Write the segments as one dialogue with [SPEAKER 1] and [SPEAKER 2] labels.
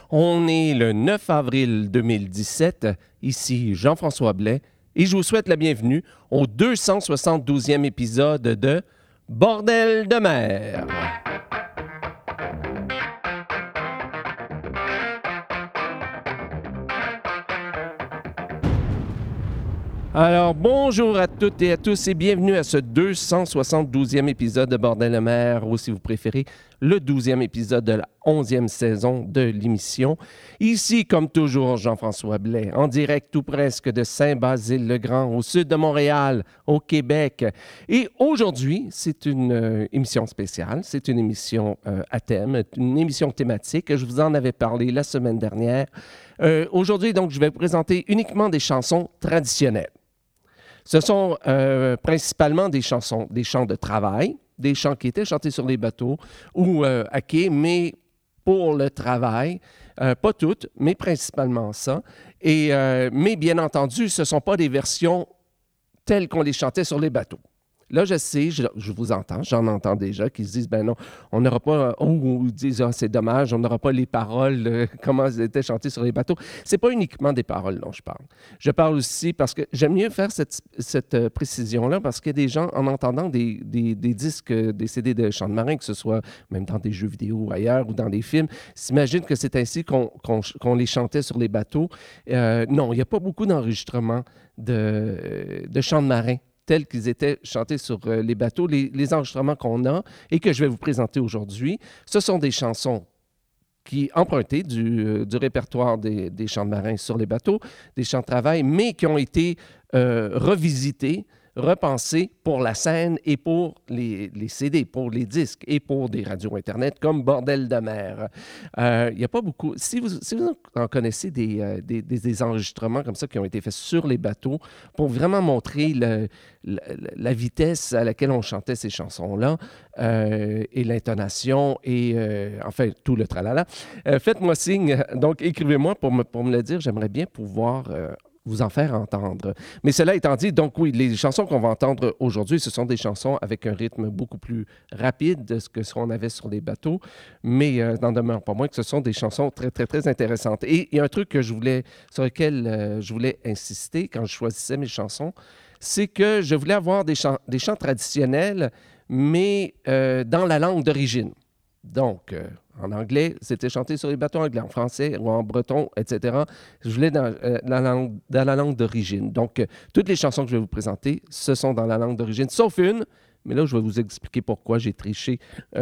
[SPEAKER 1] On est le 9 avril 2017. Ici Jean-François Blais et je vous souhaite la bienvenue au 272e épisode de Bordel de mer. Alors, bonjour à toutes et à tous et bienvenue à ce 272e épisode de Bordel de mer, ou si vous préférez, le 12e épisode de la 11e saison de l'émission. Ici, comme toujours, Jean-François Blais, en direct tout presque de Saint-Basile-le-Grand, au sud de Montréal, au Québec. Et aujourd'hui, c'est une émission spéciale, c'est une émission à thème, une émission thématique. Je vous en avais parlé la semaine dernière. Aujourd'hui, donc, je vais vous présenter uniquement des chansons traditionnelles. Ce sont principalement des chansons, des chants de travail, des chants qui étaient chantés sur les bateaux ou à quai, mais pour le travail. Pas toutes, mais principalement ça. Mais bien entendu, ce ne sont pas des versions telles qu'on les chantait sur les bateaux. Là, je sais, je vous entends, j'en entends déjà qui se disent, ben non, on n'aura pas, ou disent, ah, c'est dommage, on n'aura pas les paroles, comment elles étaient chantées sur les bateaux. C'est pas uniquement des paroles dont je parle. Je parle aussi parce que j'aime mieux faire cette précision-là parce qu'il y a des gens, en entendant des disques, des CD de chants de marin, que ce soit même dans des jeux vidéo ou ailleurs ou dans des films, s'imaginent que c'est ainsi qu'on les chantait sur les bateaux. Non, il n'y a pas beaucoup d'enregistrements de chants de marin tels qu'ils étaient chantés sur les bateaux. Les enregistrements qu'on a et que je vais vous présenter aujourd'hui, ce sont des chansons qui empruntées du répertoire des chants de marins sur les bateaux, des chants de travail, mais qui ont été revisitées, repensés pour la scène et pour les CD, pour les disques et pour des radios Internet comme Bordel de mer. Il n'y a pas beaucoup... Si vous en connaissez des enregistrements comme ça qui ont été faits sur les bateaux pour vraiment montrer la vitesse à laquelle on chantait ces chansons-là et l'intonation et enfin tout le tralala, faites-moi signe. Donc, écrivez-moi pour me le dire. J'aimerais bien pouvoir... vous en faire entendre. Mais cela étant dit, donc oui, les chansons qu'on va entendre aujourd'hui, ce sont des chansons avec un rythme beaucoup plus rapide de ce qu'on avait sur les bateaux, mais n'en demeure pas moins que ce sont des chansons très, très, très intéressantes. Et il y a un truc sur lequel je voulais insister quand je choisissais mes chansons, c'est que je voulais avoir des chants traditionnels, mais dans la langue d'origine. Donc, en anglais, c'était chanté sur les bateaux anglais, en français ou en breton, etc. Je voulais dans la langue d'origine. Donc, toutes les chansons que je vais vous présenter, ce sont dans la langue d'origine, sauf une, mais là, je vais vous expliquer pourquoi j'ai triché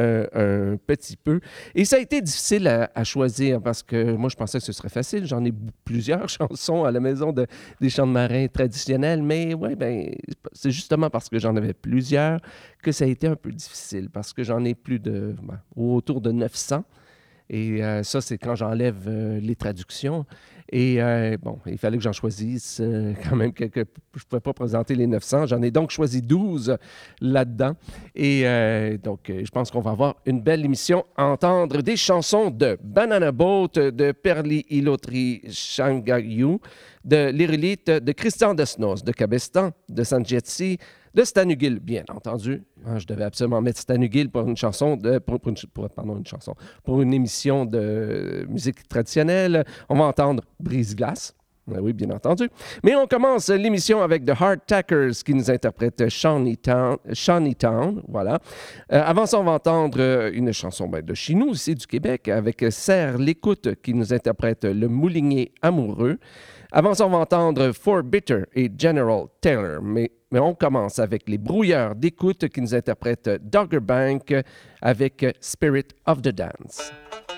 [SPEAKER 1] un petit peu. Et ça a été difficile à choisir parce que moi, je pensais que ce serait facile. J'en ai plusieurs chansons à la maison des chants de marins traditionnels, mais ouais, ben, c'est justement parce que j'en avais plusieurs que ça a été un peu difficile parce que j'en ai autour de 900. Et ça, c'est quand j'enlève les traductions. Et bon, il fallait que j'en choisisse quand même quelques... Je ne pouvais pas présenter les 900. J'en ai donc choisi 12 là-dedans. Et donc, je pense qu'on va avoir une belle émission à entendre des chansons de Banana Boat, de Perli Ilotri Shangayu, de l'Irélite, de Christian Desnos, de Cabestan, de Sanjetsi, de Stan Hugill, bien entendu. Je devais absolument mettre Stan Hugill pour une chanson, pour une émission de musique traditionnelle. On va entendre Brise-Glace. Oui, bien entendu. Mais on commence l'émission avec The Hardtackers qui nous interprète Shawneetown. Voilà. Avant ça, on va entendre une chanson de chez nous, ici du Québec, avec Serre L'Écoute qui nous interprète Le Moulinier amoureux. Avant ça, on va entendre For Bitter et General Taylor. Mais on commence avec les Brouilleurs d'écoute qui nous interprètent Dogger Bank avec Spirit of the Dance.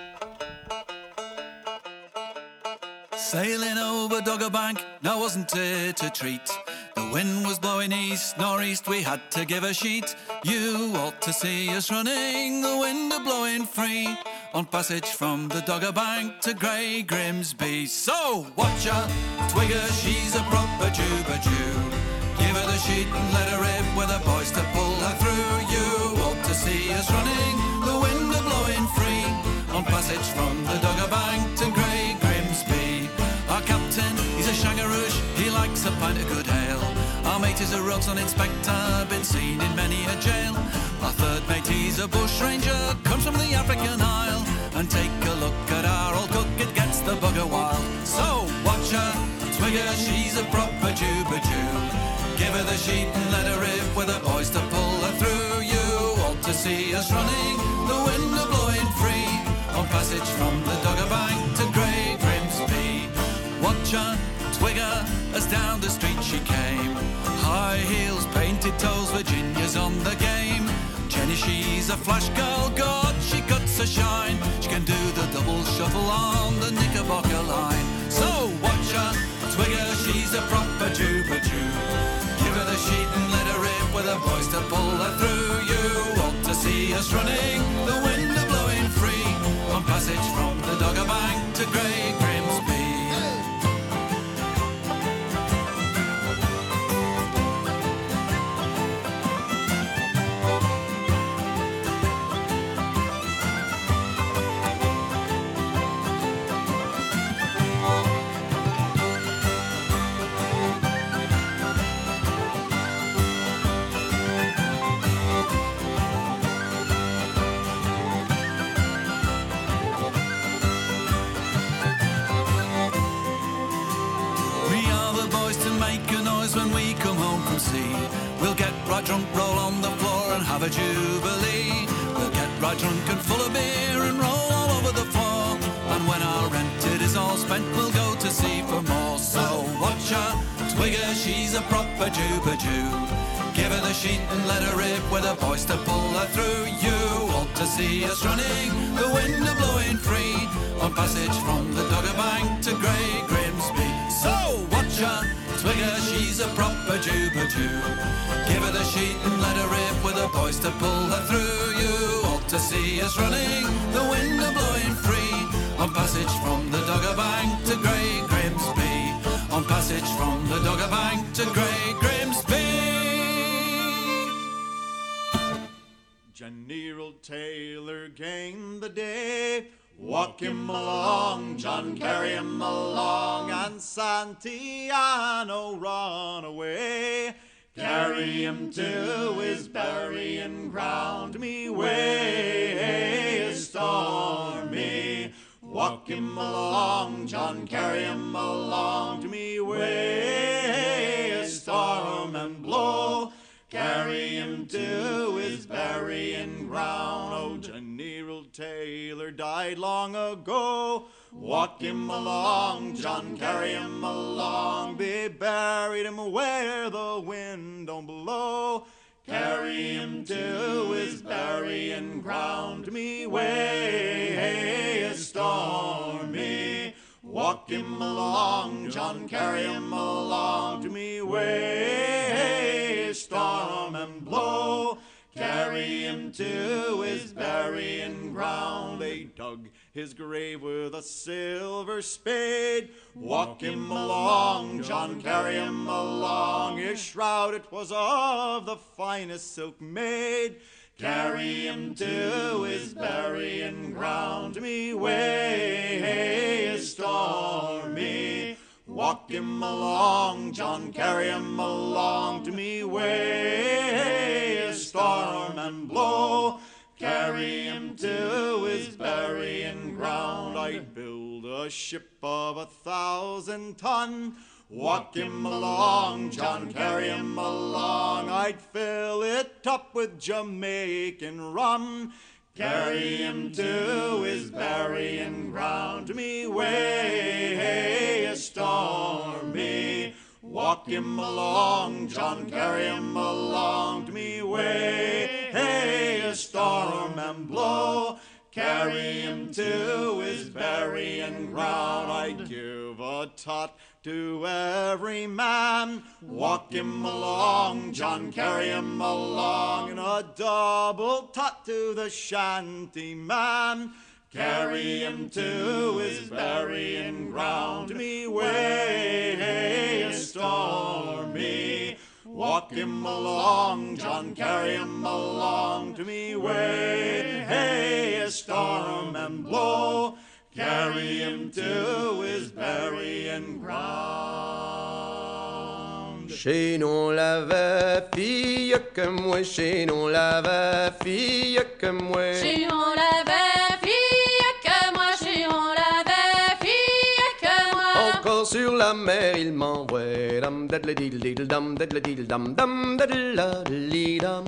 [SPEAKER 2] Sailing over Dogger Bank, now wasn't it a treat? The wind was blowing east, northeast, we had to give a sheet. You ought to see us running, the wind a blowing free, on passage from the Dogger Bank to Grey Grimsby. So watch her, twigger, she's a proper Jew. Give her the sheet and let her rip with the boys to pull her through. You ought to see us running, the wind a blowing free, on passage from the Dogger Bank to Grey Grimsby. Our captain, he's a shangaroosh, he likes a pint of good ale. Our mate is a Roxon inspector, been seen in many a jail. Our third mate, he's a bush ranger, comes from the African Isle. And take a look at our old cook, it gets bugger wild. So watch her, twig her, she's a proper Jew-ba-Jew. Give her the sheet and let her rip with the boys to pull her through. You ought to see us running, the wind a blowing free, on passage from the Dogger Bank to Grey Grimsby. Watch her, twig her, as down the street she came. High heels, painted toes, Virginia's on the game. Jenny, she's a flash girl, God, she cuts a shine. She can do the double shuffle on the Knickerbocker line. So watch her, twig her, she's a proper Jew-ba-Jew. Give her the sheet and let her rip with her boys to pull her through. You ought to see us running, the wind a blowing free, on passage from the Dogger Bank to Grey Grimsby. When we come home from sea, we'll get right drunk, roll on the floor and have a jubilee. We'll get right drunk and full of beer and roll all over the floor. And when our rented is all spent, we'll go to sea for more. So watch her, twig her, she's a proper Jew-ba-Jew. Give her the sheet and let her rip with her boys to pull her through. You ought to see us running, the wind a blowing free, on passage from the Dogger Bank to Grey Grimsby. So watch her, twig her, she's a proper Jew-ba-Jew. Give her the sheet and let her rip with her boys to pull her through. You ought to see us running, the wind a blowing free, on passage from the Dogger Bank to Grey Grimsby. On passage from the Dogger Bank to Grey Grimsby.
[SPEAKER 3] General Taylor gained the day. Walk him along, John, carry him along, and Santillano run away. Carry him to his burying ground, me way is stormy. Walk him along, John, carry him along, to me way is storm and blow. Carry him to his burying ground. Oh, General Taylor died long ago. Walk him along, John, carry him along. Be buried him where the wind don't blow. Carry him to his burying ground. Me way is stormy. Walk him along, John, carry him along, to me way storm and blow. Carry him to his burying ground. They dug his grave with a silver spade. Walk him along, John, carry him along. His shroud it was of the finest silk made. Carry him to his burying ground. Me way is stormy. Walk him along, John, carry him along, to me way is storm and blow. Carry him to his burying ground. I'd build a ship of 1,000 ton. Walk him along, John, carry him along. I'd fill it up with Jamaican rum. Carry him to his burying ground. Me way is stormy. Walk him along, John, carry him along. To me way is storm and blow. Carry him to his burying ground. I'd give a tot to every man. Walk him along, John, carry him along. And a double tot to the shanty man. Carry him to his burying ground. Me way is stormy. Walk him along, John, carry him along. To me way is storm and blow. Carry him to his burying ground.
[SPEAKER 4] Chez nous la fille que moi, chez nous la fille que moi.
[SPEAKER 5] Chez nous la fille que moi, chez nous la fille
[SPEAKER 4] sur la mer, il m'envoie dam dadle diddle diddle dam dadle diddle dam dam dadle la li dam.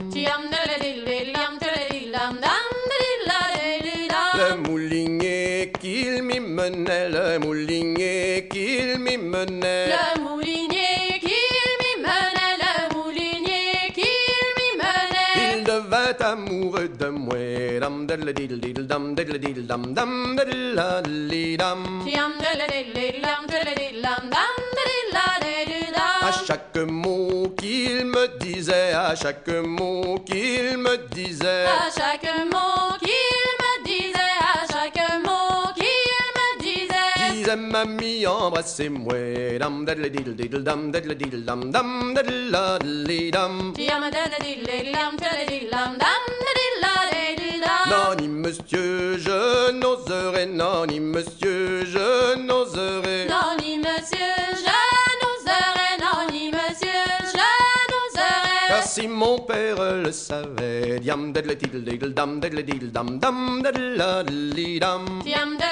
[SPEAKER 4] Le moulinier qu'il m'y menait, le moulinier qu'il m'y menait.
[SPEAKER 5] Le moulinier qu'il m'y menait, le moulinier qu'il m'y menait.
[SPEAKER 4] Il devint amoureux de moi, dam dadle diddle diddle dam dadle diddle dam dam dadle la li dam. À chaque mot qu'il me disait, à chaque mot qu'il me disait,
[SPEAKER 5] À chaque mot qu'il me disait, à chaque mot qu'il me disait.
[SPEAKER 4] disait mamie embrassez-moi, dam dadle diddle diddle dam dadle diddle dam dam dadle la li dam. Non, ni monsieur, je n'oserais, non, ni monsieur, je n'oserais.
[SPEAKER 5] Non, ni monsieur, je n'oserais, non, ni monsieur, je n'oserais.
[SPEAKER 4] Car si mon père le savait, diam dadle diddle diddle dam dadle diddle dam dam dadle la li dam.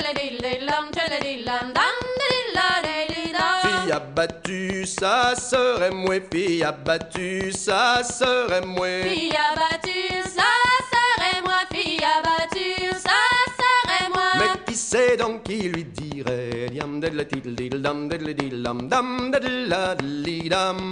[SPEAKER 4] Fille abattue, ça serait moi, fille abattue, ça serait moi.
[SPEAKER 5] Fille abattue, ça serait moi, fille abattue, ça serait moi.
[SPEAKER 4] Mais qui sait donc qui lui dirait, diam dadle diddle diddle dam dadle diddle dam dam dadle la li dam.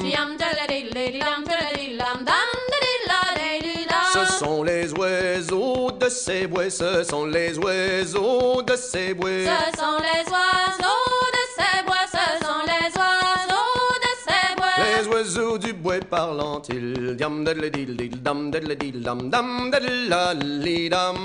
[SPEAKER 4] Ce sont les oiseaux de ces bois, ce sont les oiseaux de ces bois.
[SPEAKER 5] Ce sont les oiseaux de ces bois, ce sont les oiseaux de ces bois.
[SPEAKER 4] Les oiseaux du bois parlant-ils, diam dadle diddle diddle dam dadle diddle dam dam dadle la li dam.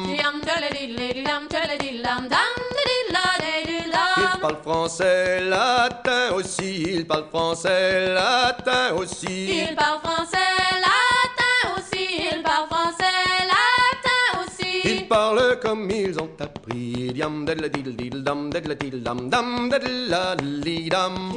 [SPEAKER 4] Ils parlent français, latin aussi, ils parlent français, latin aussi.
[SPEAKER 5] Il parle français, latin aussi, il parle français, latin aussi.
[SPEAKER 4] Ils parlent comme ils ont appris, diam dadle diddle diddle dam dadle diddle dam dam dadle la li dam.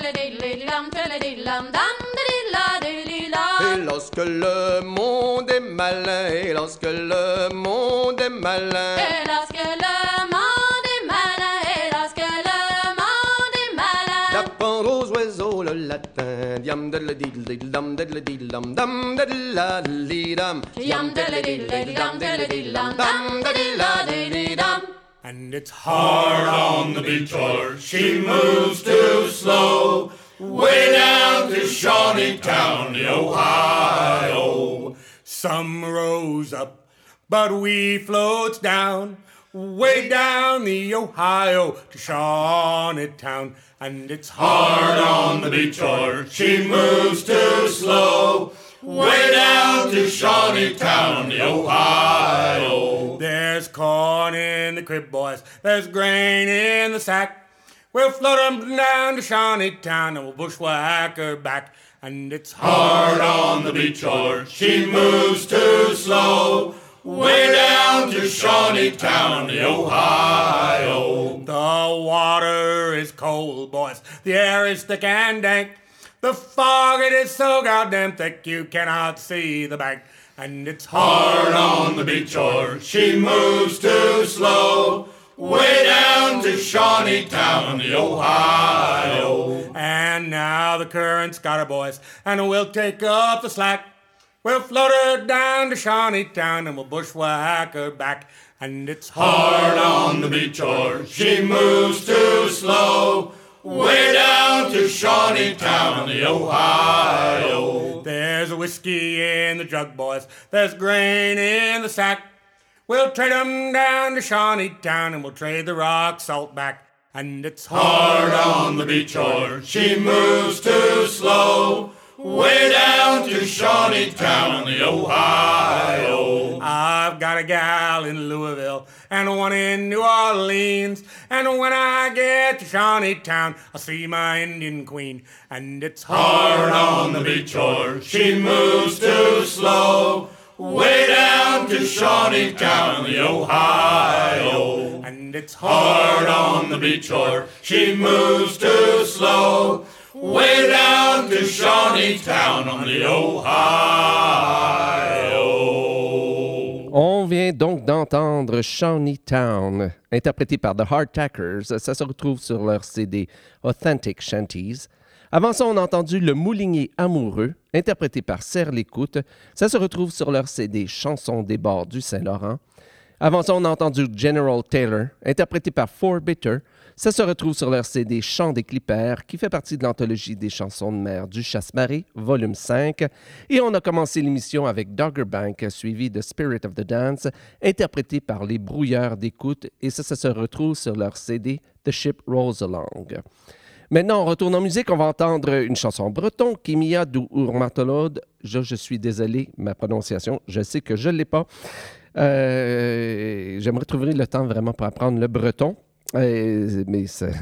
[SPEAKER 4] Et lorsque le monde est malin, et lorsque le monde est malin,
[SPEAKER 5] Et lorsque le monde est malin, et lorsque le monde est malin,
[SPEAKER 4] d'apprendre aux oiseaux le latin, diam dadle diddle diddle dam dadle diddle dam dam dadle la li dam.
[SPEAKER 5] Yum diddle diddle dum diddle diddle dum dum diddle la diddle dum.
[SPEAKER 6] And it's hard on the beach, or she moves too slow, way down to Shawneetown, the Ohio. Some rose up, but we floats down, way down the Ohio to Shawneetown. And it's hard on the beach, or she moves too slow, way down to Shawneetown, the Ohio. There's corn in the crib, boys, there's grain in the sack. We'll float 'em down to Shawneetown and we'll bushwhack her back. And it's hard on the beach, or she moves too slow, way down to Shawneetown, the Ohio. The water is cold, boys, the air is thick and dank. The fog, it is so goddamn thick you cannot see the bank. And it's hard on the beach, or she moves too slow, way down to Shawneetown, the Ohio. And now the current's got her, boys, and we'll take up the slack. We'll float her down to Shawneetown and we'll bushwhack her back. And it's hard on the beach, or she moves too slow, way down to Shawneetown, the Ohio. There's whiskey in the jug, boys, there's grain in the sack. We'll trade 'em down to Shawneetown and we'll trade the rock salt back. And it's hard on the beach, or she moves too slow, way down to Shawneetown, the Ohio. I've got a gal in Louisville and one in New Orleans, and when I get to Shawneetown, I'll see my Indian queen. And it's hard on the beach, or she moves too slow, way down to Shawneetown, the Ohio. And it's hard on the beach, or she moves too slow, way down to Shawneetown on the Ohio.
[SPEAKER 1] On vient vient donc d'entendre Shawneetown, interprété par The Hardtackers. Ça se retrouve sur leur CD Authentic Shanties. Avant ça, on a entendu Le Moulinier amoureux, interprété par Serre l'Écoute. Ça se retrouve sur leur CD Chansons des bords du Saint-Laurent. Avant ça, on a entendu General Taylor, interprété par Four Bitter. Ça se retrouve sur leur CD Chants des Clippers, qui fait partie de l'anthologie des chansons de mer du Chasse-Marée, volume 5. Et on a commencé l'émission avec Dogger Bank, suivi de Spirit of the Dance, interprété par les Brouilleurs d'écoute. Et ça se retrouve sur leur CD The Ship Rolls Along. Maintenant, on retourne en musique. On va entendre une chanson breton, Kimia du Urmatolod. Je suis désolé, ma prononciation, je sais que je ne l'ai pas. J'aimerais trouver le temps vraiment pour apprendre le breton, mais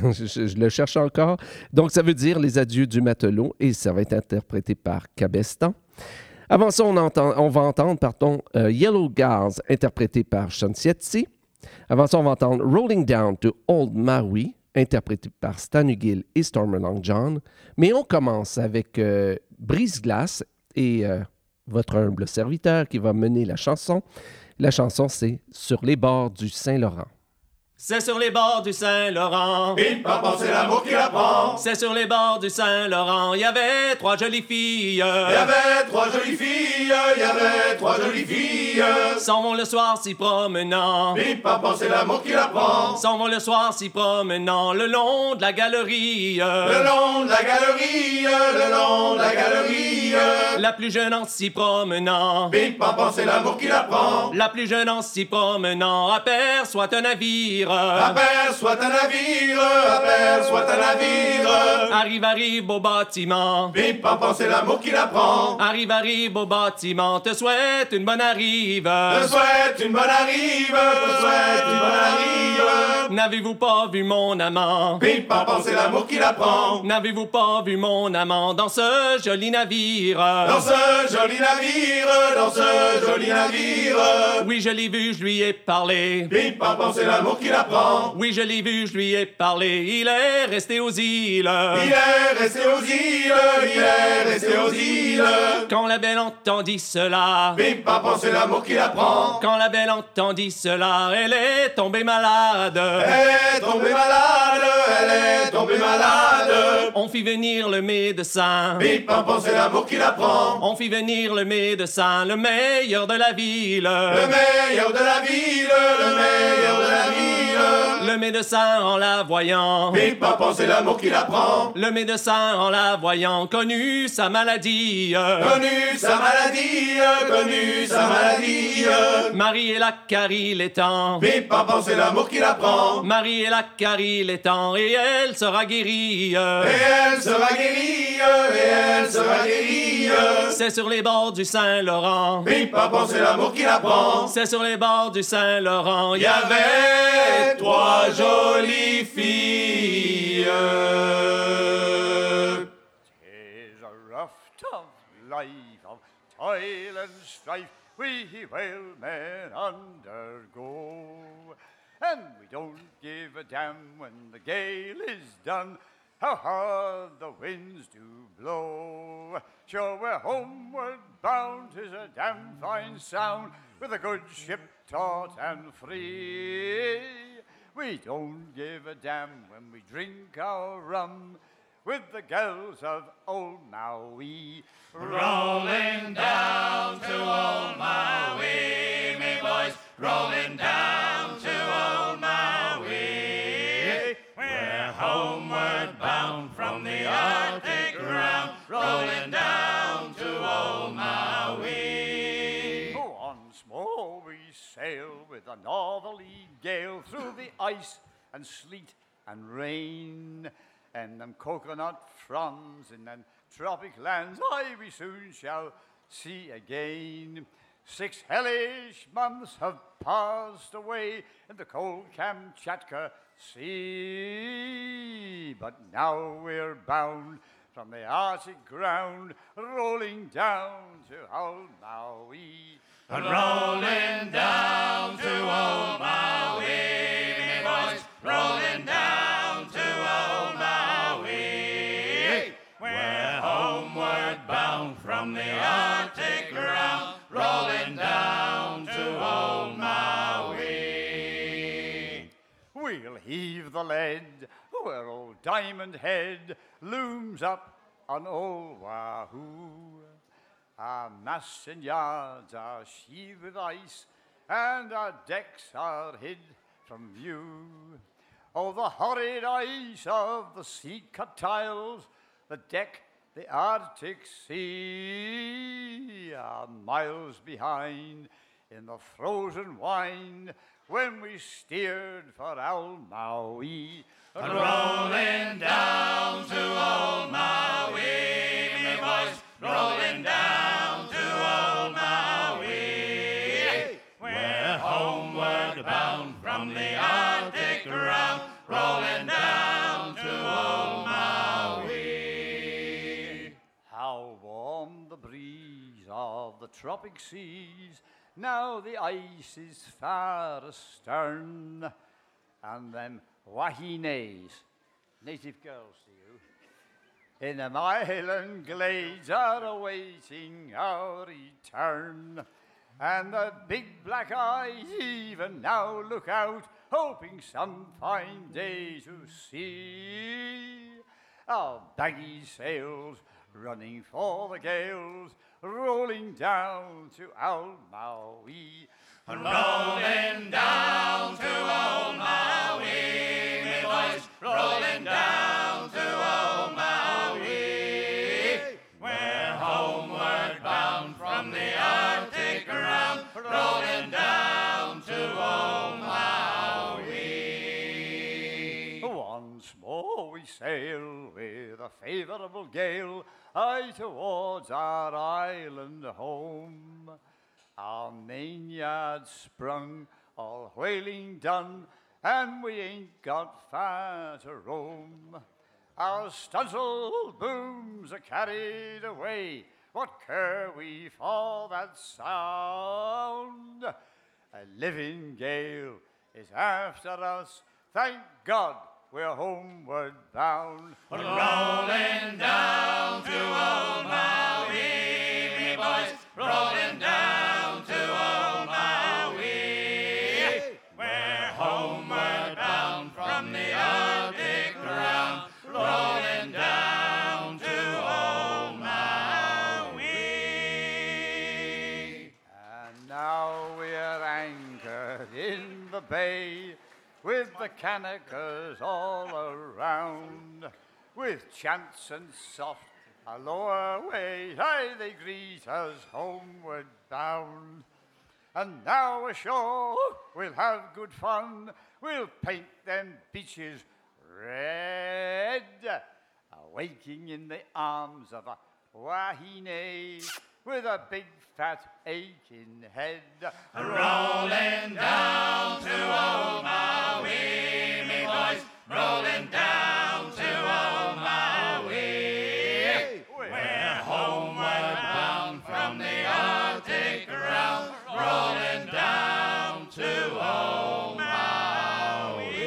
[SPEAKER 1] je le cherche encore. Donc, ça veut dire Les adieux du matelot et ça va être interprété par Cabestan. Avant ça, on va entendre Yellow Gars, interprété par Chansietsi. Avant ça, on va entendre Rolling Down to Old Maui, interprété par Stan Hugill et Stormer Long John. Mais on commence avec Brise-Glace et votre humble serviteur qui va mener la chanson. La chanson, c'est « Sur les bords du Saint-Laurent ».
[SPEAKER 7] C'est sur les bords du Saint-Laurent.
[SPEAKER 6] Bim, pam, c'est l'amour qui l'apprend.
[SPEAKER 7] C'est sur les bords du Saint-Laurent. Il y avait trois jolies filles.
[SPEAKER 6] Il y avait trois jolies filles. Il y avait trois jolies filles.
[SPEAKER 7] S'en vont le soir s'y promenant.
[SPEAKER 6] Bim, pam, c'est l'amour qui l'apprend.
[SPEAKER 7] S'en vont le soir s'y promenant. Le long de la galerie.
[SPEAKER 6] Le long de la galerie. Le long de la galerie.
[SPEAKER 7] La plus jeune en s'y promenant.
[SPEAKER 6] Bim, pam, c'est l'amour qui l'apprend.
[SPEAKER 7] La plus jeune en s'y promenant aperçoit un navire.
[SPEAKER 6] Aperçoit un navire, aperçoit un navire.
[SPEAKER 7] Arrive au bâtiment.
[SPEAKER 6] Bim, pam, c'est l'amour qui l'apprend.
[SPEAKER 7] Arrive au bâtiment. Te souhaite une bonne arrive.
[SPEAKER 6] Te souhaite une bonne arrive. Te souhaite une bonne arrive.
[SPEAKER 7] N'avez-vous pas vu mon amant?
[SPEAKER 6] Bim, pam, c'est l'amour qui l'apprend.
[SPEAKER 7] N'avez-vous pas vu mon amant dans ce joli navire?
[SPEAKER 6] Dans ce joli navire, dans ce joli navire.
[SPEAKER 7] Oui, je l'ai vu, je lui ai parlé.
[SPEAKER 6] Bim, pam, c'est l'amour qui l'apprend.
[SPEAKER 7] Oui, je l'ai vu, je lui ai parlé. Il est resté aux îles.
[SPEAKER 6] Il est resté aux îles, il est resté aux îles.
[SPEAKER 7] Quand la belle entendit cela.
[SPEAKER 6] Bim, pam, c'est l'amour qui l'apprend.
[SPEAKER 7] Quand la belle entendit cela, elle est tombée malade.
[SPEAKER 6] Elle est tombée malade, elle est tombée malade.
[SPEAKER 7] On fit venir le médecin.
[SPEAKER 6] Bim, pam, c'est l'amour qui l'apprend.
[SPEAKER 7] On fit venir le médecin, le meilleur de la ville.
[SPEAKER 6] Le meilleur de la ville, le meilleur de la ville.
[SPEAKER 7] Le médecin en la voyant.
[SPEAKER 6] Bim, pam, c'est l'amour qui l'apprend.
[SPEAKER 7] Le médecin en la voyant connut sa maladie.
[SPEAKER 6] Connu sa maladie, connu sa maladie.
[SPEAKER 7] Marie et la carie l'étang.
[SPEAKER 6] Bim, pam, c'est l'amour qui l'apprend.
[SPEAKER 7] Marie et la carie l'étang et elle sera guérie.
[SPEAKER 6] Et elle sera guérie, et elle sera guérie.
[SPEAKER 7] C'est sur les bords du Saint-Laurent.
[SPEAKER 6] Bim, pam, c'est l'amour qui l'apprend.
[SPEAKER 7] C'est sur les bords du Saint-Laurent.
[SPEAKER 6] Il y avait trois jolies filles.
[SPEAKER 3] Tis a rough, tough life of toil and strife we whalemen undergo. And we don't give a damn when the gale is done, how hard the winds do blow. Sure, we're homeward bound, 'tis a damn fine sound, with a good ship taut and free. We don't give a damn when we drink our rum with the gals of old Maui. Rolling down to old Maui, me boys, rolling down to old Maui. We're homeward bound from the Arctic round, rolling down to old Maui. Once more we sail with a northerly gale through the ice and sleet and rain, and them coconut fronds in them tropic lands we soon shall see again. 6 hellish months have passed away in the cold Kamchatka Sea, but now we're bound from the Arctic ground, rolling down to old Maui. And rolling down to old Maui, me boys, rolling down to old Maui. We're homeward bound from the Arctic ground, rolling down to old Maui. where old Diamond Head looms up on old Wahoo. Our masts and yards are sheathed with ice, and our decks are hid from view. Oh, the horrid ice of the sea-cut tiles, the deck, the Arctic Sea, are miles behind in the frozen wind when we steered for old Maui.
[SPEAKER 6] Rolling down to old Maui, me boys, rolling down to old Maui. We're homeward bound from the Arctic ground, rolling down to old Maui.
[SPEAKER 3] How warm the breeze of the tropic seas, now the ice is far astern, and them wahines, native girls to you, in them island glades are awaiting our return. And the big black eyes even now look out, hoping some fine day to see our baggy sails running for the gales, rolling down to old Maui.
[SPEAKER 6] Rolling down to old Maui, me boys, rolling down to old Maui. We're homeward bound from the Arctic ground, rolling down to old Maui.
[SPEAKER 3] Once more we sail with a favourable gale, high towards our island home. Our mainyard sprung, all whaling done, and we ain't got far to roam. Our stuns'l booms are carried away, what care we for that sound? A living gale is after us, thank God we're homeward bound.
[SPEAKER 6] Rolling down to old Maui, me boys, rolling down to old Maui. We're homeward bound from the Arctic ground, rolling down to old Maui.
[SPEAKER 3] And now we're anchored in the bay, with the Kanakas all around, with chants and soft aloha way, aye, they greet us homeward bound. And now ashore we'll have good fun, we'll paint them beaches red, awaking in the arms of a wahine with a big fat aching head.
[SPEAKER 6] Rolling down to old Maui, me boys, rolling down to old Maui. We're homeward bound from the Arctic ground, rolling down to old Maui.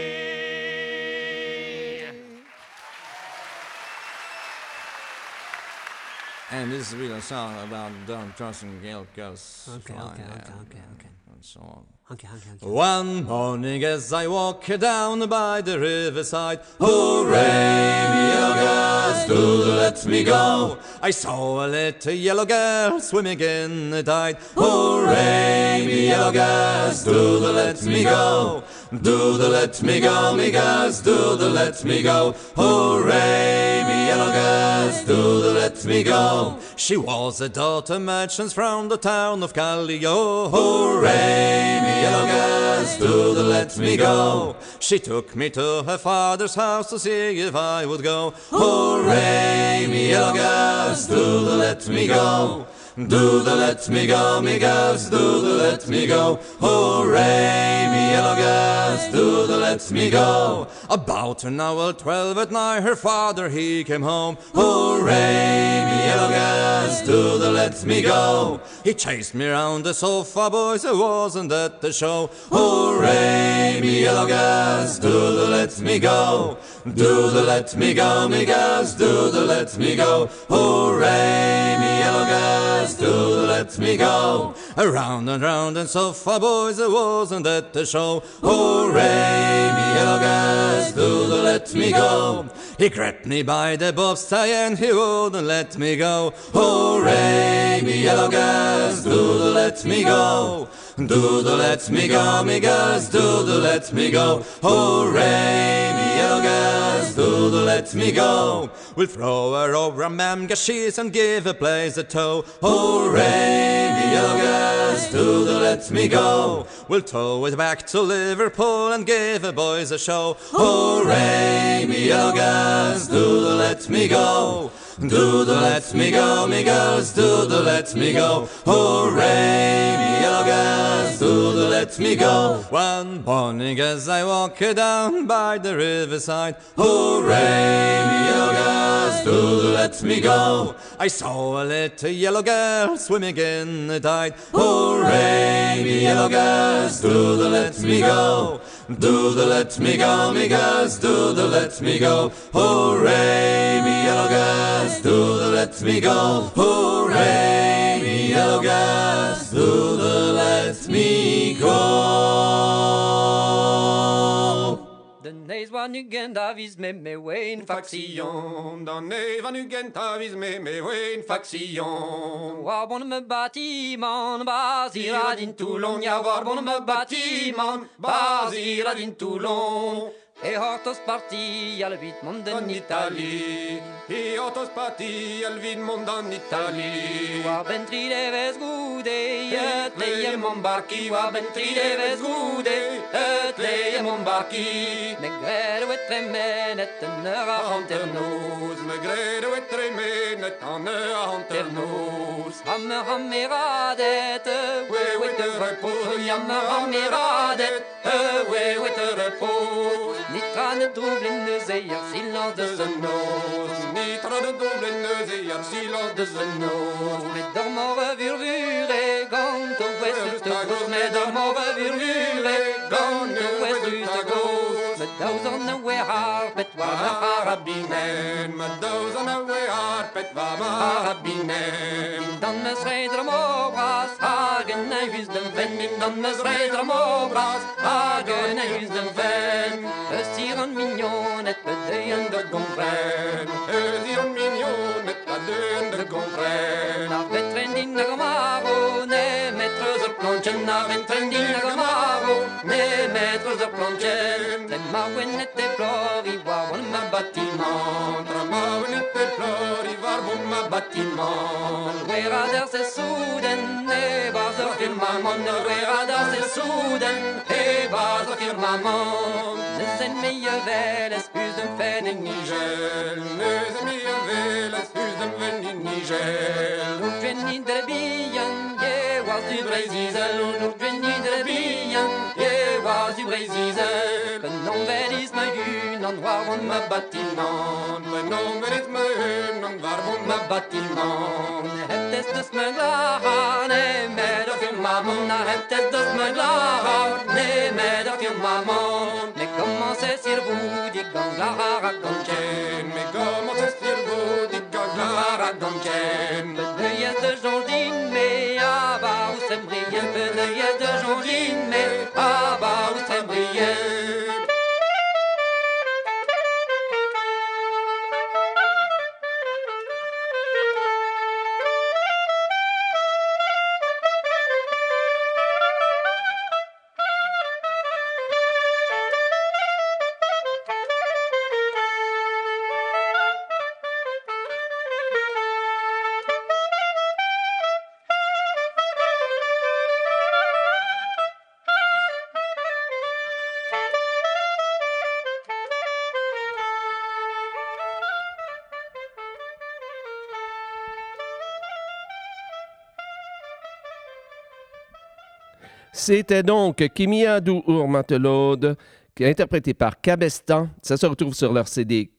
[SPEAKER 8] And this is really a song about Don Johnson and Gail Girls.
[SPEAKER 9] Okay.
[SPEAKER 8] And so on.
[SPEAKER 9] Okay.
[SPEAKER 8] One morning as I walk down by the riverside, hooray, me yellow girls, do let me go. I saw a little yellow girl swimming in the tide. Hooray, me yellow girls, do let me go. Do let me go, me girls, do let me go. Hooray, me yellow girls, do let me go. She was a daughter merchant from the town of Callio. Hooray, me yellow girls, do let me go. She took me to her father's house to see if I would go. Hooray, me yellow girls, do let me go. Do let me go, me girls, do let me go. Hooray, me yellow girls, do let me go. About an hour 12 at night, her father he came home. Hooray, me yellow girls, do let me go. He chased me round the sofa, boys, I wasn't at the show. Hooray, me yellow girls, do let me go. Do let me go, me girls, do let me go. Hooray, me yellow girls, girls, do let me go. Around and round and so far, boys, I wasn't at the show. Hooray, me yellow girls, do let me go. He grabbed me by the bob's tie and he wouldn't let me go. Hooray, me yellow girls, do let me go. Do let me go, me girls, do let me go. Hooray, me yellow girls, do let me go. We'll throw her over a mamgashes and give a place a tow. Hooray, me yellow girls, do let me go. We'll tow it back to Liverpool and give the boys a show. Hooray, me yellow girls, do let me go. Do let me go, me girls, do let me go. Hooray, me yellow girls, do let me go. One morning as I walk down by the riverside, hooray, me yellow girls, do let me go. I saw a little yellow girl swimming in the tide. Hooray, me yellow girls, do let me go. Do let me go, me girls, do let me go. Hooray, me yellow girls, do let me go. Hooray, me yellow girls, do let me go.
[SPEAKER 9] Den nees van Nugen Davies met me ween faction.
[SPEAKER 4] Dan nee van Nugen Davies met me ween faction.
[SPEAKER 9] Waar bonnen me bâtiment, Basira din Toulon. Ja, waar bonnen me bâtiment, Basira din Toulon. E hortos parti al vit mond in Italie.
[SPEAKER 4] E hortos parti al vit mond in Italie.
[SPEAKER 9] Waar ben tri deves goede, het leie mon barki. Waar ben tri deves goede, het leie mon barki. Me grede we tremen et een ranternoos.
[SPEAKER 4] Me grede we tremen et een ranternoos.
[SPEAKER 9] Hammer radet, we te repos. Hammer radet, we te repos. Niet aan het droebelen de zeeër, silence de zenoos.
[SPEAKER 4] Niet aan het droebelen de zeeër, silence de zenoos.
[SPEAKER 9] Met de morgen vurvure, gant de west de goos. Met de morgen vurvure, gant de west de goos. Met duizenden we haar, pet waar me harabinen.
[SPEAKER 4] Met duizenden we haar, pet waar me harabinen.
[SPEAKER 9] Dan me schrijder mobras, hagen en huis den ven. Dan me schrijder mobras, hagen en huis den ven. Hier een mignon, het bedeende gonfren.
[SPEAKER 4] Hier een mignon, het bedeende gonfren.
[SPEAKER 9] Naar betren die nagamaro, nee, metros op klontjen. Naar betren die nagamaro, nee, metros op klontjen. Tremauwen het te flori, waar won me bâtiment.
[SPEAKER 4] Tremauwen het te flori, waar won me bâtiment.
[SPEAKER 9] Wera der se soeden, nee, waar ze firmament. Wera der se soeden, nee, waar ze firmament. Zijn meie veles, huis de fen in Nigel.
[SPEAKER 4] Zijn meie veles, huis de fen in Nigel.
[SPEAKER 9] Nous venons de bien, je was du Brésil. Nous venons de bien, je was du Brésil. Que non velis me un endroit où me bâtiment.
[SPEAKER 4] Que non velis me un endroit où me bâtiment.
[SPEAKER 9] Het is dus mijn laar, nee, met de firmament. Het is dus mijn laar, nee, met de firmament. Comment c'est sur vous, dit Ganglara Gonchen.
[SPEAKER 4] Mais comment c'est sur vous, dit Ganglara Gonchen.
[SPEAKER 9] Bedeuilles de Jondine, mais ah bah où c'est brillant. Bedeuilles de Jondine, mais ah bah où c'est brillant.
[SPEAKER 1] C'était donc Kimiadou Ourmatelode, qui est interprété par Cabestan. Ça se retrouve sur leur CD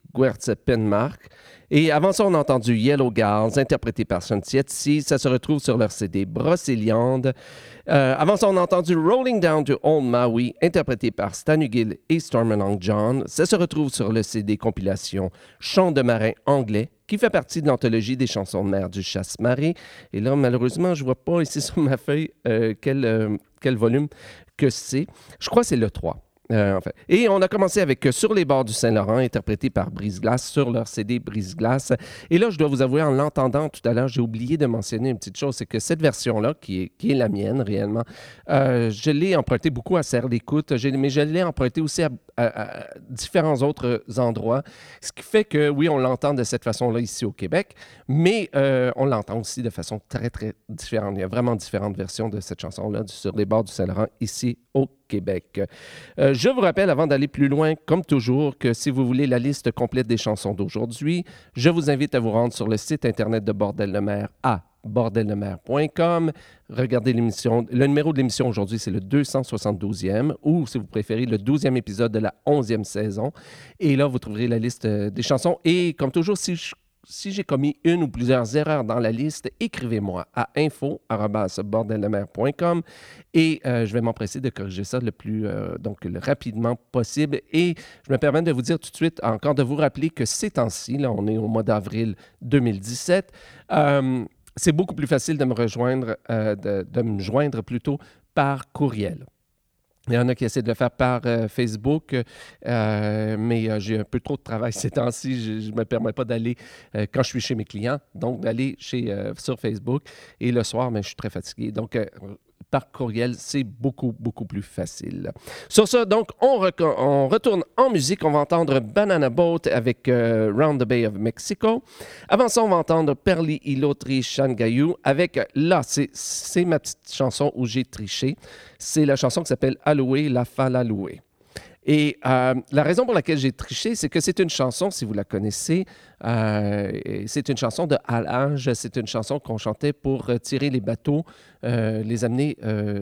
[SPEAKER 1] Guertz Penmark. Et avant ça, on a entendu Yellow Gals, interprété par Shantietsi. Ça se retrouve sur leur CD Brocéliande. Avant ça, on a entendu Rolling Down to Old Maui, interprété par Stan Hugill et Stormalong John. Ça se retrouve sur le CD compilation Chants de marin anglais, qui fait partie de l'anthologie des chansons de mer du Chasse-Marée. Et là, malheureusement, je ne vois pas ici sur ma feuille quel volume que c'est. Je crois que c'est le 3. Enfin. Et on a commencé avec Sur les bords du Saint-Laurent, interprété par Brise-Glace sur leur CD Brise-Glace. Et là, je dois vous avouer, en l'entendant tout à l'heure, j'ai oublié de mentionner une petite chose, c'est que cette version-là, qui est la mienne réellement, je l'ai empruntée beaucoup à Serre d'Écoute, mais je l'ai empruntée aussi à différents autres endroits, ce qui fait que, oui, on l'entend de cette façon-là ici au Québec, mais on l'entend aussi de façon très, très différente. Il y a vraiment différentes versions de cette chanson-là, Sur les bords du Saint-Laurent, ici au Québec. Je vous rappelle, avant d'aller plus loin, comme toujours, que si vous voulez la liste complète des chansons d'aujourd'hui, je vous invite à vous rendre sur le site Internet de Bordel de mer à bordeldemer.com. Regardez l'émission. Le numéro de l'émission aujourd'hui, c'est le 272e, ou si vous préférez, le 12e épisode de la 11e saison. Et là, vous trouverez la liste des chansons. Et comme toujours, si j'ai commis une ou plusieurs erreurs dans la liste, écrivez-moi à info@bordeldemer.com et je vais m'empresser de corriger ça le rapidement possible. Et je me permets de vous dire tout de suite, encore de vous rappeler que ces temps-ci, là, on est au mois d'avril 2017, c'est beaucoup plus facile de me rejoindre, de me joindre plutôt par courriel. Il y en a qui essaient de le faire par Facebook, mais j'ai un peu trop de travail ces temps-ci. Je ne me permets pas d'aller, quand je suis chez mes clients, donc d'aller sur Facebook. Et le soir, je suis très fatigué. Donc, par courriel, c'est beaucoup, beaucoup plus facile. Sur ça, donc, on retourne en musique. On va entendre Banana Boat avec Round the Bay of Mexico. Avant ça, on va entendre Perli Ilotri Shangayu avec, là, c'est ma petite chanson où j'ai triché. C'est la chanson qui s'appelle Aloué, la Falaloué. Et la raison pour laquelle j'ai triché, c'est que c'est une chanson, si vous la connaissez, c'est une chanson de halage, c'est une chanson qu'on chantait pour tirer les bateaux, les amener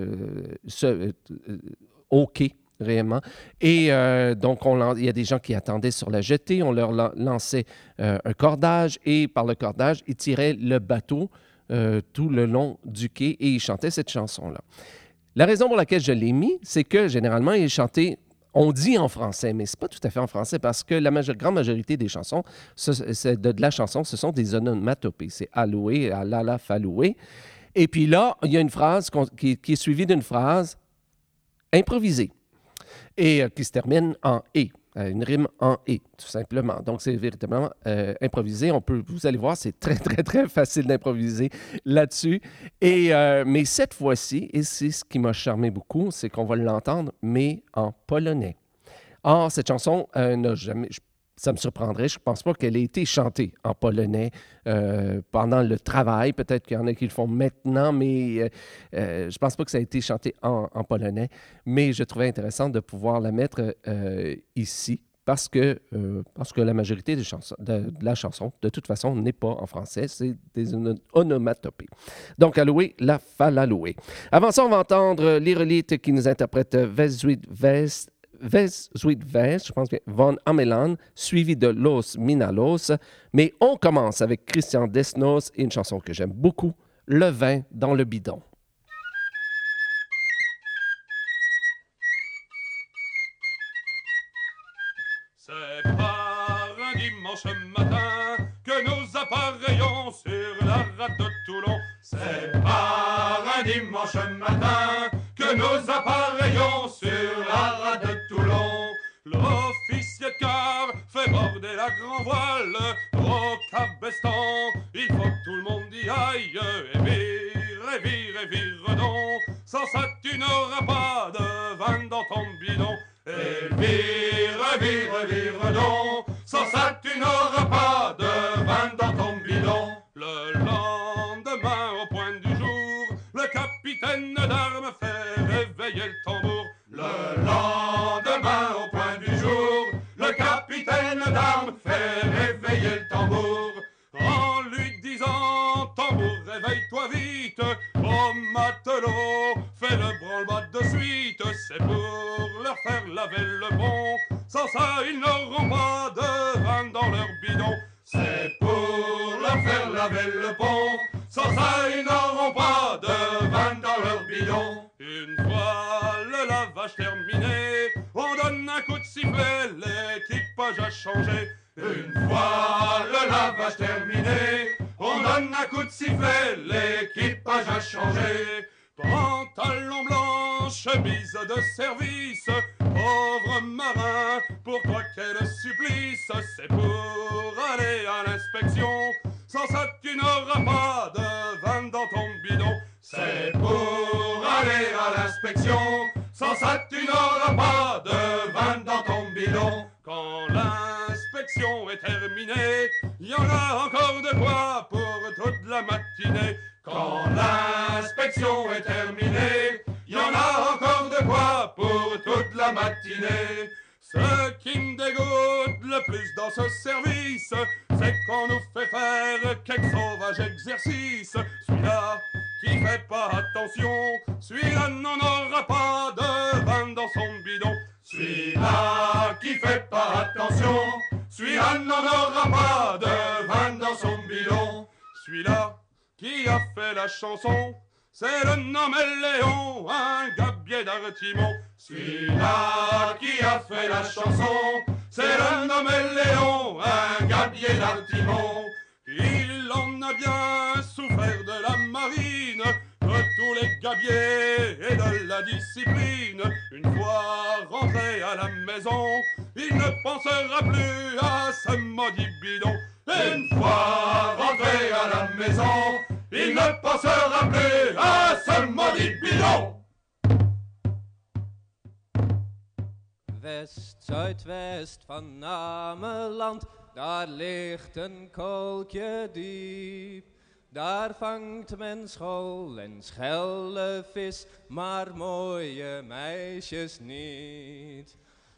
[SPEAKER 1] au quai, réellement. Et donc, il y a des gens qui attendaient sur la jetée, on leur lançait un cordage, et par le cordage, ils tiraient le bateau tout le long du quai, et ils chantaient cette chanson-là. La raison pour laquelle je l'ai mis, c'est que généralement, ils chantaient. On dit en français, mais ce n'est pas tout à fait en français parce que la grande majorité des chansons, de la chanson, ce sont des onomatopées. C'est alloué, alala, faloué. Et puis là, il y a une phrase qui est suivie d'une phrase improvisée et qui se termine en « et ». Une rime en « et », tout simplement. Donc, c'est véritablement improvisé. Vous allez voir, c'est très, très, très facile d'improviser là-dessus. Mais cette fois-ci, et c'est ce qui m'a charmé beaucoup, c'est qu'on va l'entendre, mais en polonais. Or, cette chanson n'a jamais... Ça me surprendrait. Je ne pense pas qu'elle ait été chantée en polonais pendant le travail. Peut-être qu'il y en a qui le font maintenant, mais je ne pense pas que ça a été chanté en polonais. Mais je trouvais intéressant de pouvoir la mettre ici parce que la majorité de la chanson, de toute façon, n'est pas en français. C'est des onomatopées. Donc, Aloué, la Falaloué. Avant ça, on va entendre l'Irolite qui nous interprète Vezuit Vest, je pense bien, Von Amelan, suivi de Los Minalos. Mais on commence avec Christian Desnos et une chanson que j'aime beaucoup, Le vin dans le bidon.
[SPEAKER 6] C'est par un dimanche matin que nous appareillons sur la rade de Toulon. C'est par un dimanche matin que nous appareillons sur la rade de Toulon. L'officier de quart fait border la grand voile au cabestan. Il faut que tout le monde y aille et vire donc. Sans ça tu n'auras pas de vin dans ton bidon. Et vire donc. Sans ça tu n'auras pas de vin dans ton bidon. Le lendemain au point du jour, le capitaine d'armes fait réveiller le tambour. Le lendemain au point du jour, le capitaine d'armes fait réveiller le tambour. En lui disant, tambour, réveille-toi vite, oh matelot, fais le branle-bas de suite, c'est pour leur faire laver le pont. Sans ça, ils n'auront pas de vin dans a changé. Une fois le lavage terminé, on donne un coup de sifflet, l'équipage a changé. Pantalon blanc, chemise de service, pauvre marin, pour toi quel supplice. C'est pour aller à l'inspection, sans ça tu n'auras pas de vin dans ton bidon. C'est pour aller à l'inspection, sans ça tu n'auras pas de vin dans ton bidon. Quand l'inspection est terminée, il y en a encore de quoi pour toute la matinée. Quand l'inspection est terminée, il y en a encore de quoi pour toute la matinée. Ce qui me dégoûte le plus dans ce service, c'est qu'on nous fait faire quelques sauvages exercices. Celui-là qui fait pas attention, celui-là n'en aura pas de vin dans son bidon. Celui-là qui fait pas attention, celui-là n'en aura pas de vin dans son bidon. Celui-là qui a fait la chanson, c'est le nommé Léon, un gabier d'Artimon. Celui-là qui a fait la chanson, c'est le nommé Léon, un gabier d'Artimon. Il en a bien souffert de la marine, de tous les gabiers et de la discipline. Une fois rentré à la maison, il ne pensera plus à ce maudit bidon. Une fois rentré à la maison, il ne pensera plus à ce maudit bidon.
[SPEAKER 9] West-Zuidwest van Ameland, daar ligt een kolkje diep. Daar vangt men school en schelle vis, maar mooie meisjes niet.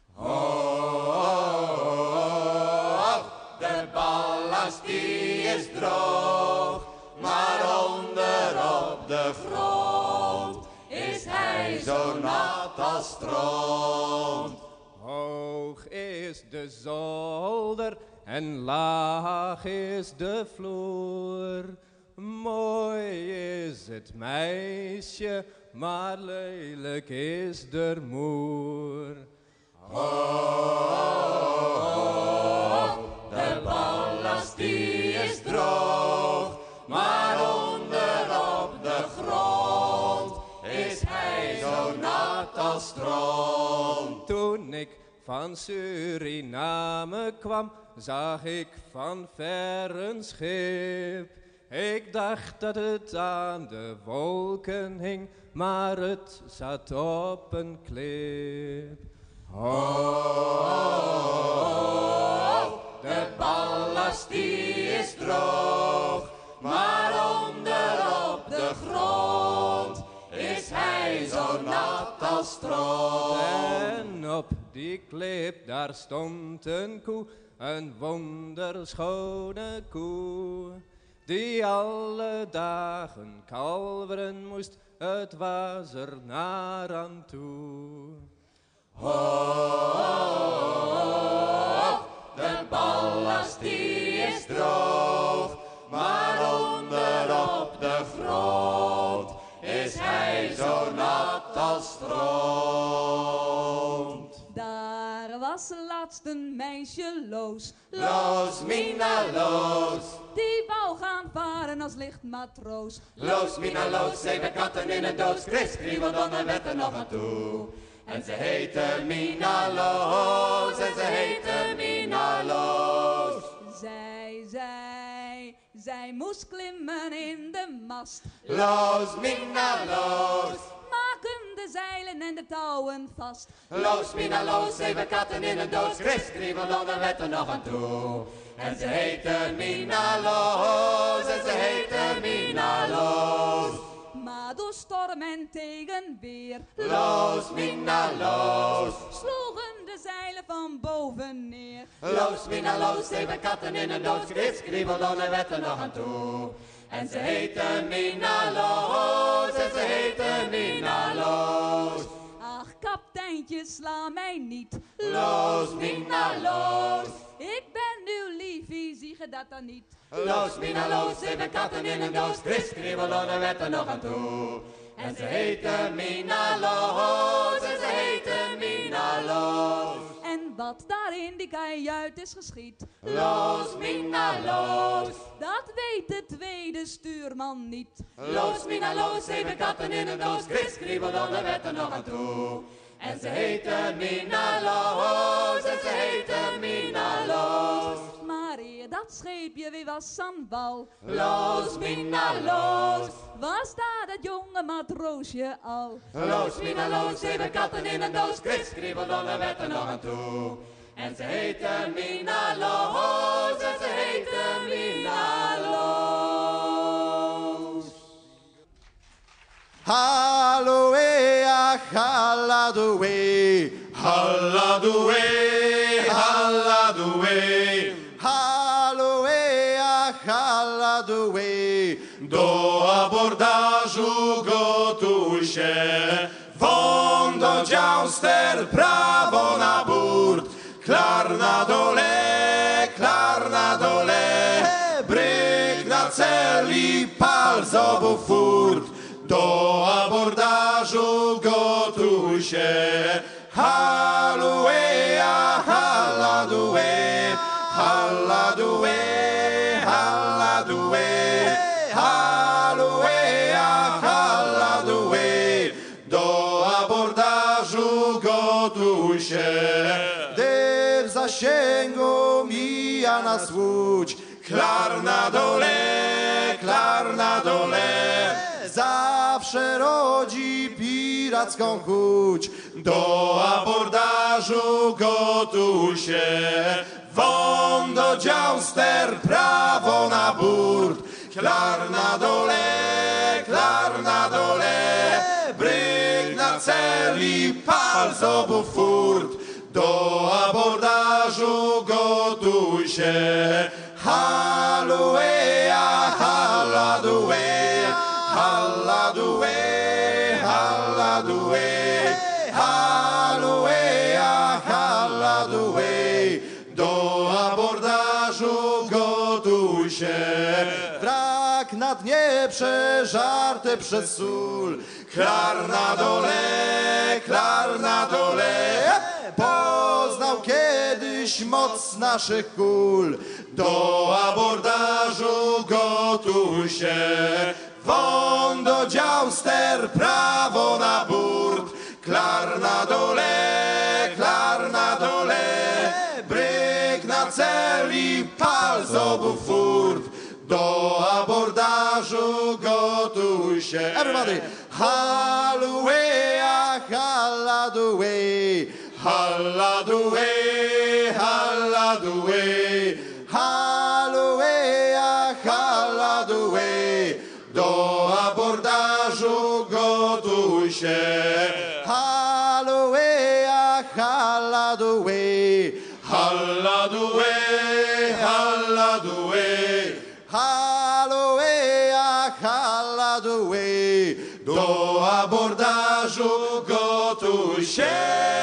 [SPEAKER 3] De ballast die is droog, maar onder op de grond is hij zo nat als stront.
[SPEAKER 9] Hoog is de zolder en laag is de vloer. Mooi is het meisje, maar lelijk is de moer.
[SPEAKER 3] De ballast die is droog, maar onder op de grond is hij zo nat als stront.
[SPEAKER 9] Toen ik van Suriname kwam, zag ik van ver een schip. Ik dacht dat het aan de wolken hing, maar het zat op een klip.
[SPEAKER 3] De ballast die is droog, maar onder op de grond is hij zo nat als stront.
[SPEAKER 9] En op die klip daar stond een koe, een wonderschone koe, die alle dagen kalveren moest, het was er naar aan toe.
[SPEAKER 3] De ballast die is droog, maar onder op de grond is hij zo nat als stront.
[SPEAKER 5] Daar was laatst een meisje Loos.
[SPEAKER 3] Loos, Mina, Loos.
[SPEAKER 5] Die wou gaan varen als lichtmatroos.
[SPEAKER 3] Loos, Mina, Loos, 7 katten in een doos. Chris Kriebeldonnen werd er nog aan toe. En ze heette Mina Loos, en ze heette Mina Loos.
[SPEAKER 5] Zij moest klimmen in de mast.
[SPEAKER 3] Loos, Mina Loos.
[SPEAKER 5] Maken de zeilen en de touwen vast.
[SPEAKER 3] Loos, Mina Loos, 7 katten in een doos. Chris Kriebeldonnen werd er nog aan toe. En ze heette Mina Loos, en ze heette Mina Loos.
[SPEAKER 5] Maar door storm en tegenweer,
[SPEAKER 3] Loos, Mina Loos,
[SPEAKER 5] sloegen de zeilen van boven neer.
[SPEAKER 3] Loos, Mina Loos, 7 katten in een doos. Chris Kriebeldonnen werd er nog aan toe. En ze heette Mina Loos, en ze heette Mina Loos.
[SPEAKER 5] Ach, kapiteintje, sla mij niet.
[SPEAKER 3] Loos, Mina Loos.
[SPEAKER 5] Ik ben uw liefie, zie je dat dan niet?
[SPEAKER 3] Loos, Mina Loos, 7 katten in een doos. Chris Kriebeldonnen werd er nog aan toe. En ze heette Mina Loos, en ze heette Mina Loos.
[SPEAKER 5] En
[SPEAKER 10] wat daar in die kajuit is geschied.
[SPEAKER 9] Los, mina, los.
[SPEAKER 10] Dat weet de tweede stuurman niet.
[SPEAKER 9] Los, mina, los, 7 katten in een doos. Chris Kriebel, daar werd er nog aan toe. En ze heette Mina Loos, en ze heette Mina Loos.
[SPEAKER 10] Maar eer dat scheepje weer was aan wal,
[SPEAKER 9] Los, Mina Loos.
[SPEAKER 10] was daar dat jonge matroosje al.
[SPEAKER 9] Los, Mina Loos, 7 katten in een doos. Chris Kriebel, daar werd er nog aan toe. En ze heette Mina Loos, en ze heette Mina Loos.
[SPEAKER 3] Halloea, halladoe,
[SPEAKER 6] Halladoe, halladoe,
[SPEAKER 3] halloea, halladoe.
[SPEAKER 6] do abordażu gotuj się. Wondo dziauster, prawo na burt, klar na dole, bryk na cel i pal z obu furt. Do abordażu gotuj się. Halloea, halladue, halladue, halladue, halloea, halladue. Do abordażu gotuj się.
[SPEAKER 3] Gdy w zasięgu mija nas łódź,
[SPEAKER 6] Klar na dole,
[SPEAKER 3] zawsze rodzi piracką chuć.
[SPEAKER 6] do abordażu gotuj się. Wondo dziauster, prawo na burt, klar na dole, bryk na cel i pal z obu furt. Do abordażu gotuj się. Halloea, halladue, halladue, halladue, halloea, halladue. Do abordażu gotuj się.
[SPEAKER 3] Wrak na dnie przeżarty przez sól,
[SPEAKER 6] Klar na dole,
[SPEAKER 3] poznał kiedyś moc naszych kul.
[SPEAKER 6] do abordażu gotuj się. Wondo dziauster, prawo na burt, klar na dole, bryk na cel i pal z obu furt. Do abordażu gotuj się.
[SPEAKER 3] Everybody, halloea, halladue,
[SPEAKER 6] Halladue, halladue,
[SPEAKER 3] halloea, halladue.
[SPEAKER 6] do abordażu gotuj się.
[SPEAKER 3] Halloea, halladue,
[SPEAKER 6] Halladue, halladue,
[SPEAKER 3] halloea, halladue.
[SPEAKER 6] do abordażu gotuj się.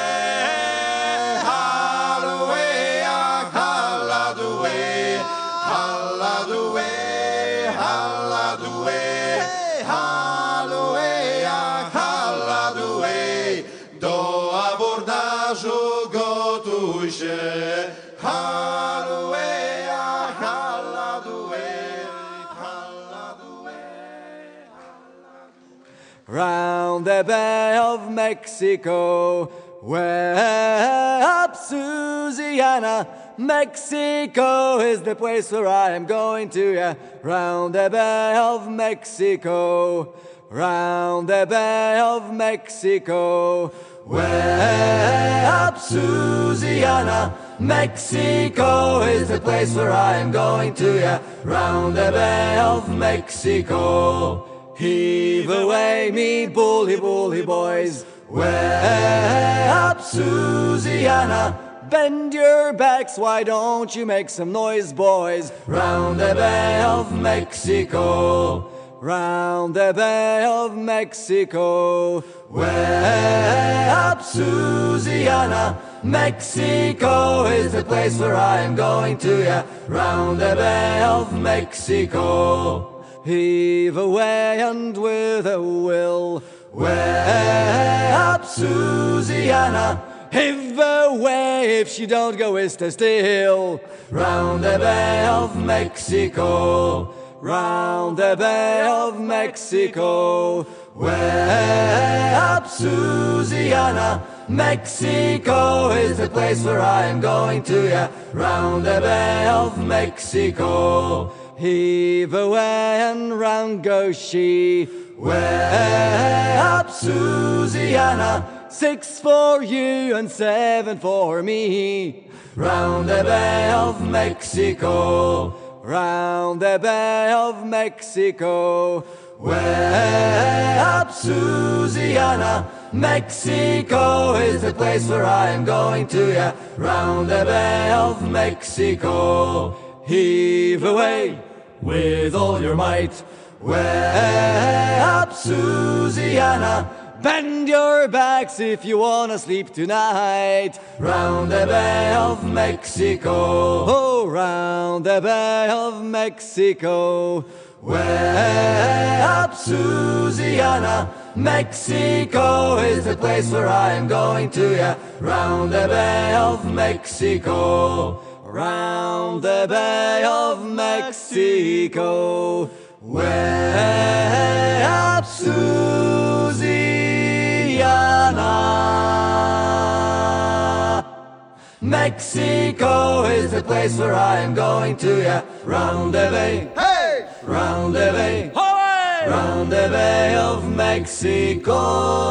[SPEAKER 6] Halloea, halladue, halladue, halladue, halloea, halladue. Do abordażu gotuj się. Halloea, halladue, halladue.
[SPEAKER 8] Round the Bay of Mexico, way up Louisiana. Mexico is the place where I am going to, yeah. Round the Bay of Mexico, round the Bay of Mexico, way up Louisiana. Mexico is the place where I am going to, yeah. Round the Bay of Mexico. Heave away, me bully, bully boys, way up Louisiana. Bend your backs, why don't you make some noise, boys? Round the Bay of Mexico, round the Bay of Mexico, way up Louisiana. Mexico is the place where I am going to, yeah. Round the Bay of Mexico. Heave away and with a will, way up Louisiana. Heave away if she don't go west still. Round the Bay of Mexico, round the Bay of Mexico. Way up Louisiana, Mexico is the place where I am going to, yeah. Round the Bay of Mexico. Heave away and round goes she. Way up Louisiana, 6 for you and 7 for me. Round the Bay of Mexico, round the Bay of Mexico. Way up Louisiana, Mexico is the place where I am going to, yeah. Round the Bay of Mexico. Heave away with all your might. Way up Louisiana, bend your backs if you wanna sleep tonight. Round the Bay of Mexico, oh, round the Bay of Mexico. Way up Louisiana, Mexico is the place where I am going to, yeah. Round the Bay of Mexico, round the Bay of Mexico. Way up Louisiana, Mexico is the place where I am going to, yeah. Round the Bay, hey! Round the Bay, hey! Round the Bay of Mexico.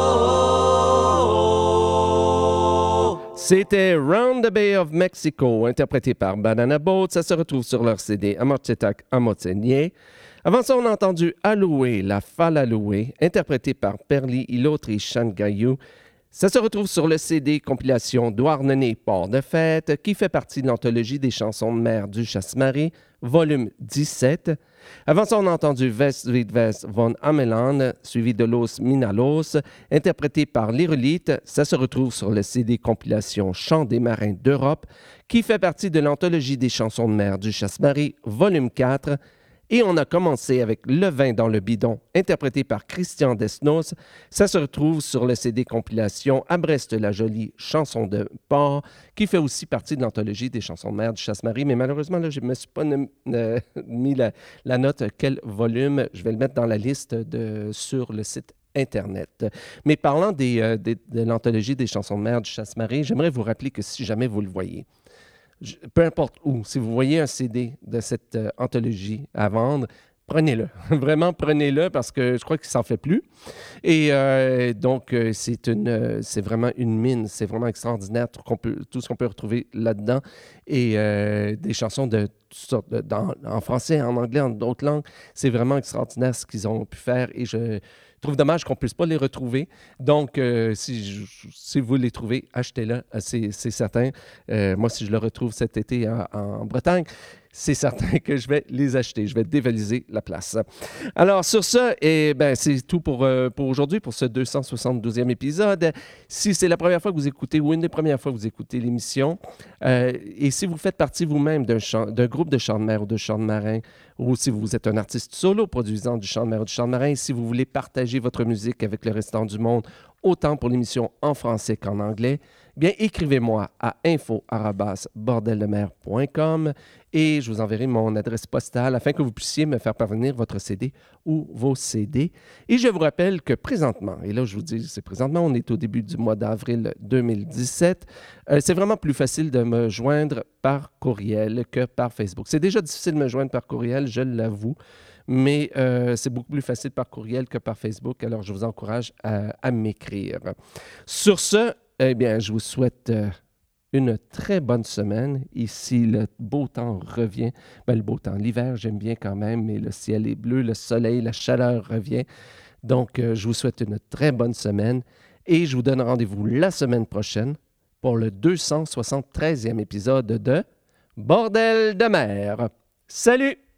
[SPEAKER 1] C'était Round the Bay of Mexico, interprété par Banana Boat. Ça se retrouve sur leur CD Amorcetak Amotsenye. Avant ça, on a entendu Aloué, la Falaloué, interprété par Perli Ilotri Changayou. Ça se retrouve sur le CD compilation Douarnenez Port de Fête, qui fait partie de l'anthologie des chansons de mer du Chasse-Marée, volume 17. Avant ça, on a entendu West West von Ameland, suivi de Los Minalos, interprété par l'Irolite. Ça se retrouve sur le CD compilation Chants des marins d'Europe, qui fait partie de l'anthologie des chansons de mer du Chasse-Marée, volume 4. Et on a commencé avec Le vin dans le bidon, interprété par Christian Desnos. Ça se retrouve sur le CD compilation À Brest-la-Jolie, chanson de port, qui fait aussi partie de l'anthologie des chansons de mer du Chasse-Marée. Mais malheureusement, là, je ne me suis pas mis la note quel volume. Je vais le mettre dans la liste sur le site Internet. Mais parlant de l'anthologie des chansons de mer du Chasse-Marée, j'aimerais vous rappeler que si jamais vous le voyez, peu importe où, si vous voyez un CD de cette anthologie à vendre, prenez-le. Vraiment, prenez-le parce que je crois qu'il ne s'en fait plus. Et donc, c'est vraiment une mine. C'est vraiment extraordinaire tout ce qu'on peut retrouver là-dedans. Et des chansons de toutes sortes, en français, en anglais, en d'autres langues. C'est vraiment extraordinaire ce qu'ils ont pu faire. Et je trouve dommage qu'on ne puisse pas les retrouver. Donc, si vous les trouvez, achetez-le, c'est certain. Moi, si je le retrouve cet été en Bretagne, c'est certain que je vais les acheter. Je vais dévaliser la place. Alors, sur ça, c'est tout pour aujourd'hui, pour ce 272e épisode. Si c'est la première fois que vous écoutez ou une des premières fois que vous écoutez l'émission, et si vous faites partie vous-même d'un groupe de chants de mer ou de chants de marin, ou si vous êtes un artiste solo produisant du chant de mer ou du chant de marin, si vous voulez partager votre musique avec le restant du monde, autant pour l'émission en français qu'en anglais, bien, écrivez-moi à info@bordeldemer.com et je vous enverrai mon adresse postale afin que vous puissiez me faire parvenir votre CD ou vos CD. Et je vous rappelle que présentement, et là je vous dis, c'est présentement, on est au début du mois d'avril 2017, c'est vraiment plus facile de me joindre par courriel que par Facebook. C'est déjà difficile de me joindre par courriel, je l'avoue, mais c'est beaucoup plus facile par courriel que par Facebook, alors je vous encourage à m'écrire. Sur ce, eh bien, je vous souhaite une très bonne semaine. Ici, le beau temps revient. Ben, le beau temps, l'hiver, j'aime bien quand même, mais le ciel est bleu, le soleil, la chaleur revient. Donc, je vous souhaite une très bonne semaine et je vous donne rendez-vous la semaine prochaine pour le 273e épisode de Bordel de mer. Salut!